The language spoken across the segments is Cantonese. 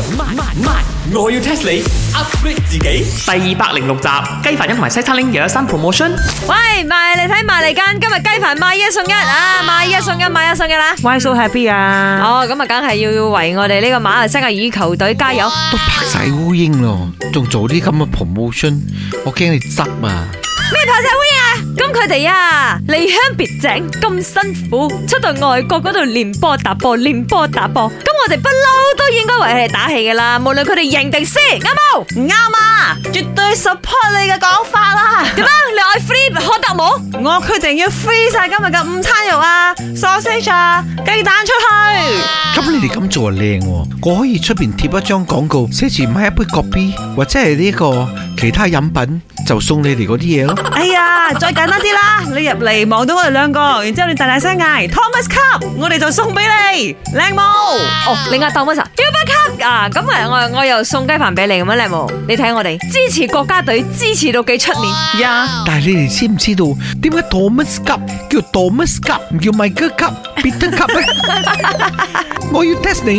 我要 test 你 upgrade 自己。第206集，雞飯一同埋西餐拎又有新 promotion。 喂，埋嚟睇埋嚟間，今日雞飯買一送一啊！買一送一，買一送一啦 Why so happy 啊？ 哦，咁啊，梗係要為我哋呢個馬來西亞羽球隊加油。 都拍晒烏蠅咯，仲做啲咁嘅 promotion， 我驚你執啊！ 咩拍晒烏蠅啊？咁佢哋啊，離鄉別井咁辛苦，出到外國嗰度練波打波，練波打波。咁我哋不嬲都應該為佢哋打氣噶啦，無論佢哋贏定輸，啱冇？ 啱啊，絕對 support 你嘅講法啦。 點啊？你愛 free 可得冇？ 我決定要 free 晒今日嘅午餐肉啊 ，sausage 啊，雞蛋出去。 咁你哋咁做係靚喎，我可以出邊貼一張廣告，寫住買一杯咖啡或者係呢個其他飲品，就送你哋嗰啲嘢咯。 哎呀，再簡單啲啦，你入嚟望到我哋兩個，然之後你大大聲嗌 Thomas Cup， 我哋就送俾你，靚冇？ 哦，你嗌 Thomas 啊 Cup 啊，咁啊我又送雞飯俾你咁樣靚冇？你睇我哋支持國家隊，支持到幾出面呀！ 但係你哋知唔知道點解 Thomas Cup 叫 Thomas Cup 唔叫 Michael Cup、Peter Cup 咧？我要 test 你。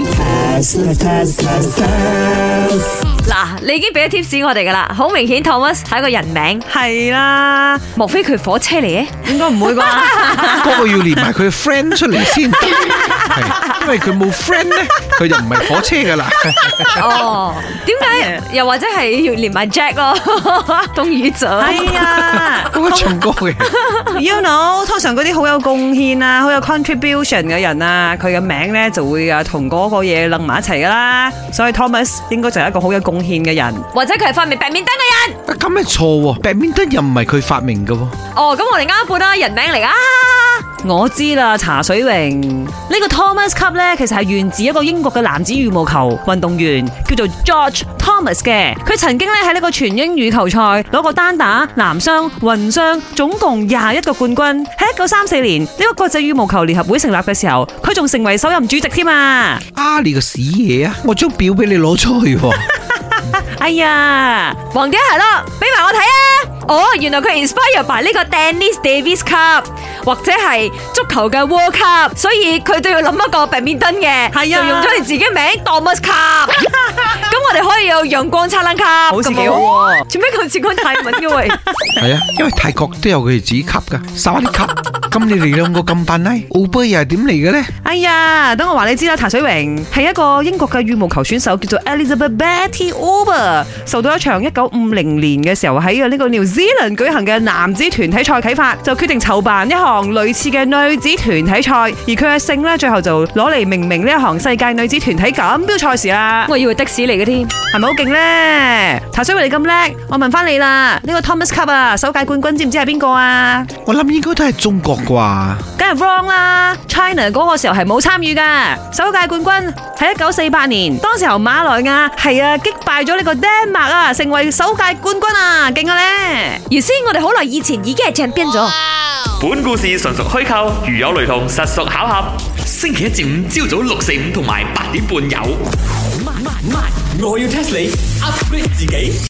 嗱，你已經俾咗 tips 我哋噶啦，好明顯 Thomas 係一個人名， 係啦， 莫非佢火車嚟嘅？ 應該唔會啩？ 嗰個要連埋佢嘅 friend 出嚟先，係因為佢冇 friend 咧，佢就唔係火車噶啦。 哦，點解？又或者係要連埋 Jack 咯，東宇哲。 係啊， 嗰個唱歌嘅 ，you know， 通常嗰啲好有貢獻啊，好有 contribution 嘅人啊，佢嘅名咧就會啊同嗰個嘢楞埋一齊噶啦，所以 Thomas 應該就係一個好有貢獻嘅人， 或者佢係發明白面燈嘅人。 咁咪錯喎，白面燈又唔係佢發明嘅喎。 哦，咁我哋啱一半啦，人名嚟噶。 我知啦，茶水榮呢個 Thomas Cup 咧，其實係源自一個英國嘅男子羽毛球運動員，叫做 George Thomas 嘅。佢曾經咧喺呢個全英羽球賽攞過單打、男雙、混雙，總共21個冠軍。喺1934年呢個國際羽毛球聯合會成立嘅時候，佢仲成為首任主席添啊！ 啊，你個屎嘢啊！我張表俾你攞出去喎。 哎呀， 黃點係咯，俾埋我睇啊！哦，原來佢 inspire by 呢個 Dennis Davis Cup 或者係足球嘅 World Cup， 所以佢都要諗一個白面燈嘅， 係啊， 就用咗你自己名 Thomas Cup。咁我哋可以有陽光燦爛 Cup， 好似幾好喎。 做咩咁似講泰文嘅喂？ 係啊，因為泰國都有佢哋自己級噶，沙啲級。咁你哋兩個咁扮拉，Uber 又係點嚟嘅咧？ 哎呀，等我話你知啦，譚水榮係一個英國嘅羽毛球選手，叫做 Elizabeth Betty Uber， 受到一場1950年嘅時候喺呢個 New Zealand 舉行嘅男子團體賽啟發，就決定籌辦一項類似嘅女子團體賽，而佢嘅姓呢，最後就攞嚟命名呢一項世界女子團體錦標賽事啦。 我以為的士嚟嘅添， 係咪好勁呢？譚水榮你咁叻，我問翻你啦，呢個 Thomas Cup 啊，首屆冠軍知唔知係邊個啊？ 我諗應該都係中國啩。 梗係 wrong 啦 ，China 嗰個時候係冇參與噶，首屆冠軍喺1948年，當時候馬來亞係啊擊敗咗呢個丹麥啊，成為首屆冠軍啊，勁啊咧！ 原先我哋好耐以前已經係champion咗。 本故事純屬虛構，如有雷同，實屬巧合。星期一至五朝早6、4、5同埋8點半有。我要 test 你 upgrade 自己。